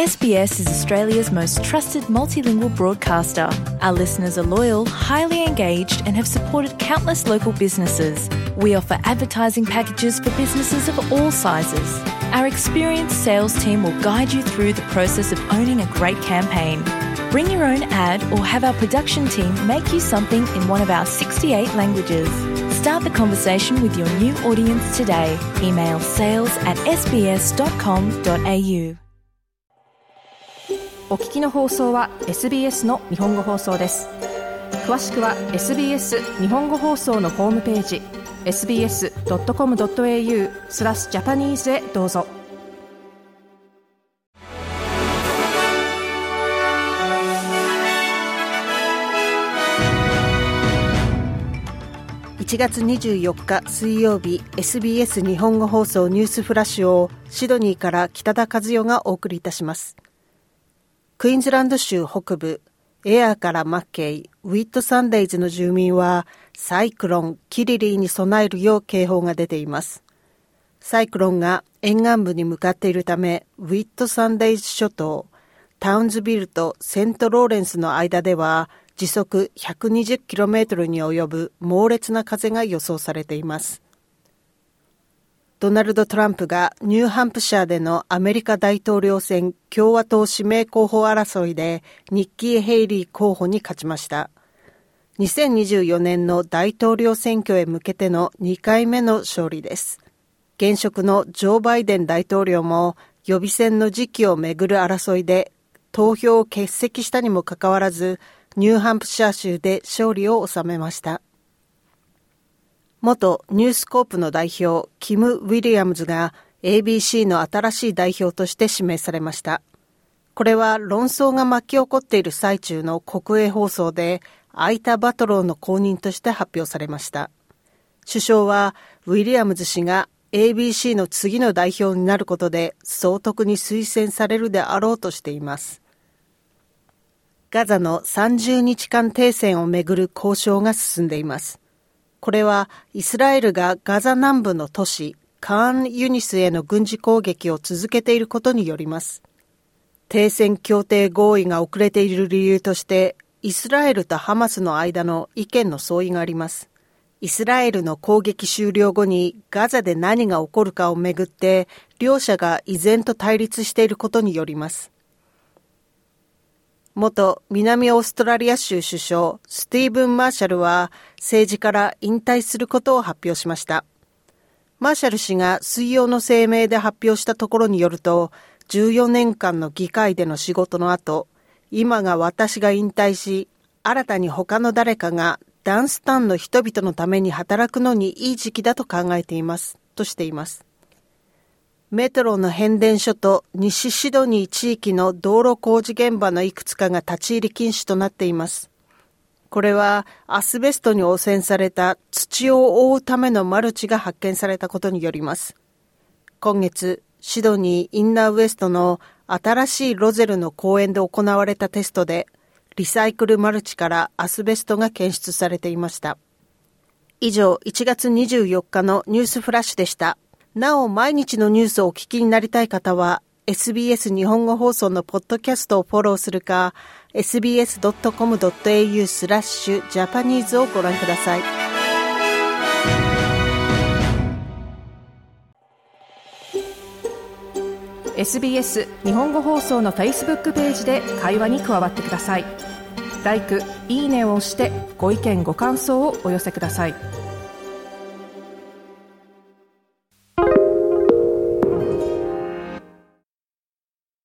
SBS is Australia's most trusted multilingual broadcaster. Our listeners are loyal, highly engaged, and have supported countless local businesses. We offer advertising packages for businesses of all sizes. Our experienced sales team will guide you through the process of owning a great campaign. Bring your own ad or have our production team make you something in one of our 68 languages. Start the conversation with your new audience today. Email sales@sbs.com.au。 お聞きの放送は SBS の日本語放送です。詳しくは SBS 日本語放送のホームページ sbs.com.au/Japanese へどうぞ。1月24日水曜日、 SBS 日本語放送ニュースフラッシュをシドニーから北田和代がお送りいたします。クイーンズランド州北部エアーからマッケイ、ウィットサンデイズの住民はサイクロンキリリーに備えるよう警報が出ています。サイクロンが沿岸部に向かっているため、ウィットサンデイズ諸島、タウンズビルとセントローレンスの間では時速 120km に及ぶ猛烈な風が予想されています。ドナルド・トランプがニューハンプシャーでのアメリカ大統領選共和党指名候補争いでニッキー・ヘイリー候補に勝ちました。2024年の大統領選挙へ向けての2回目の勝利です。現職のジョー・バイデン大統領も予備選の時期をめぐる争いで投票を欠席したにもかかわらず、ニューハンプシャー州で勝利を収めました。元ニュースコープの代表キム・ウィリアムズが ABC の新しい代表として指名されました。これは論争が巻き起こっている最中の国営放送でアイタ・バトローの後任として発表されました。首相はウィリアムズ氏が ABC の次の代表になることで総督に推薦されるであろうとしています。ガザの30日間停戦をめぐる交渉が進んでいます。これはイスラエルがガザ南部の都市カーンユニスへの軍事攻撃を続けていることによります。停戦協定合意が遅れている理由としてイスラエルとハマスの間の意見の相違があります。イスラエルの攻撃終了後にガザで何が起こるかをめぐって両者が依然と対立していることによります。元南オーストラリア州首相スティーブン・マーシャルは政治から引退することを発表しました。マーシャル氏が水曜の声明で発表したところによると、14年間の議会での仕事の後、今が私が引退し、新たに他の誰かがダンスタンの人々のために働くのにいい時期だと考えていますとしています。メトロの変電所と西シドニー地域の道路工事現場のいくつかが立ち入り禁止となっています。これはアスベストに汚染された土を覆うためのマルチが発見されたことによります。今月、シドニーインナーウエストの新しいロゼルの公園で行われたテストで、リサイクルマルチからアスベストが検出されていました。以上、1月24日のニュースフラッシュでした。なお、毎日のニュースをお聞きになりたい方は、SBS 日本語放送のポッドキャストをフォローするか、sbs.com.au/Japanese をご覧ください。SBS 日本語放送の Facebook ページで会話に加わってください。LIKE、いいねを押してご意見ご感想をお寄せください。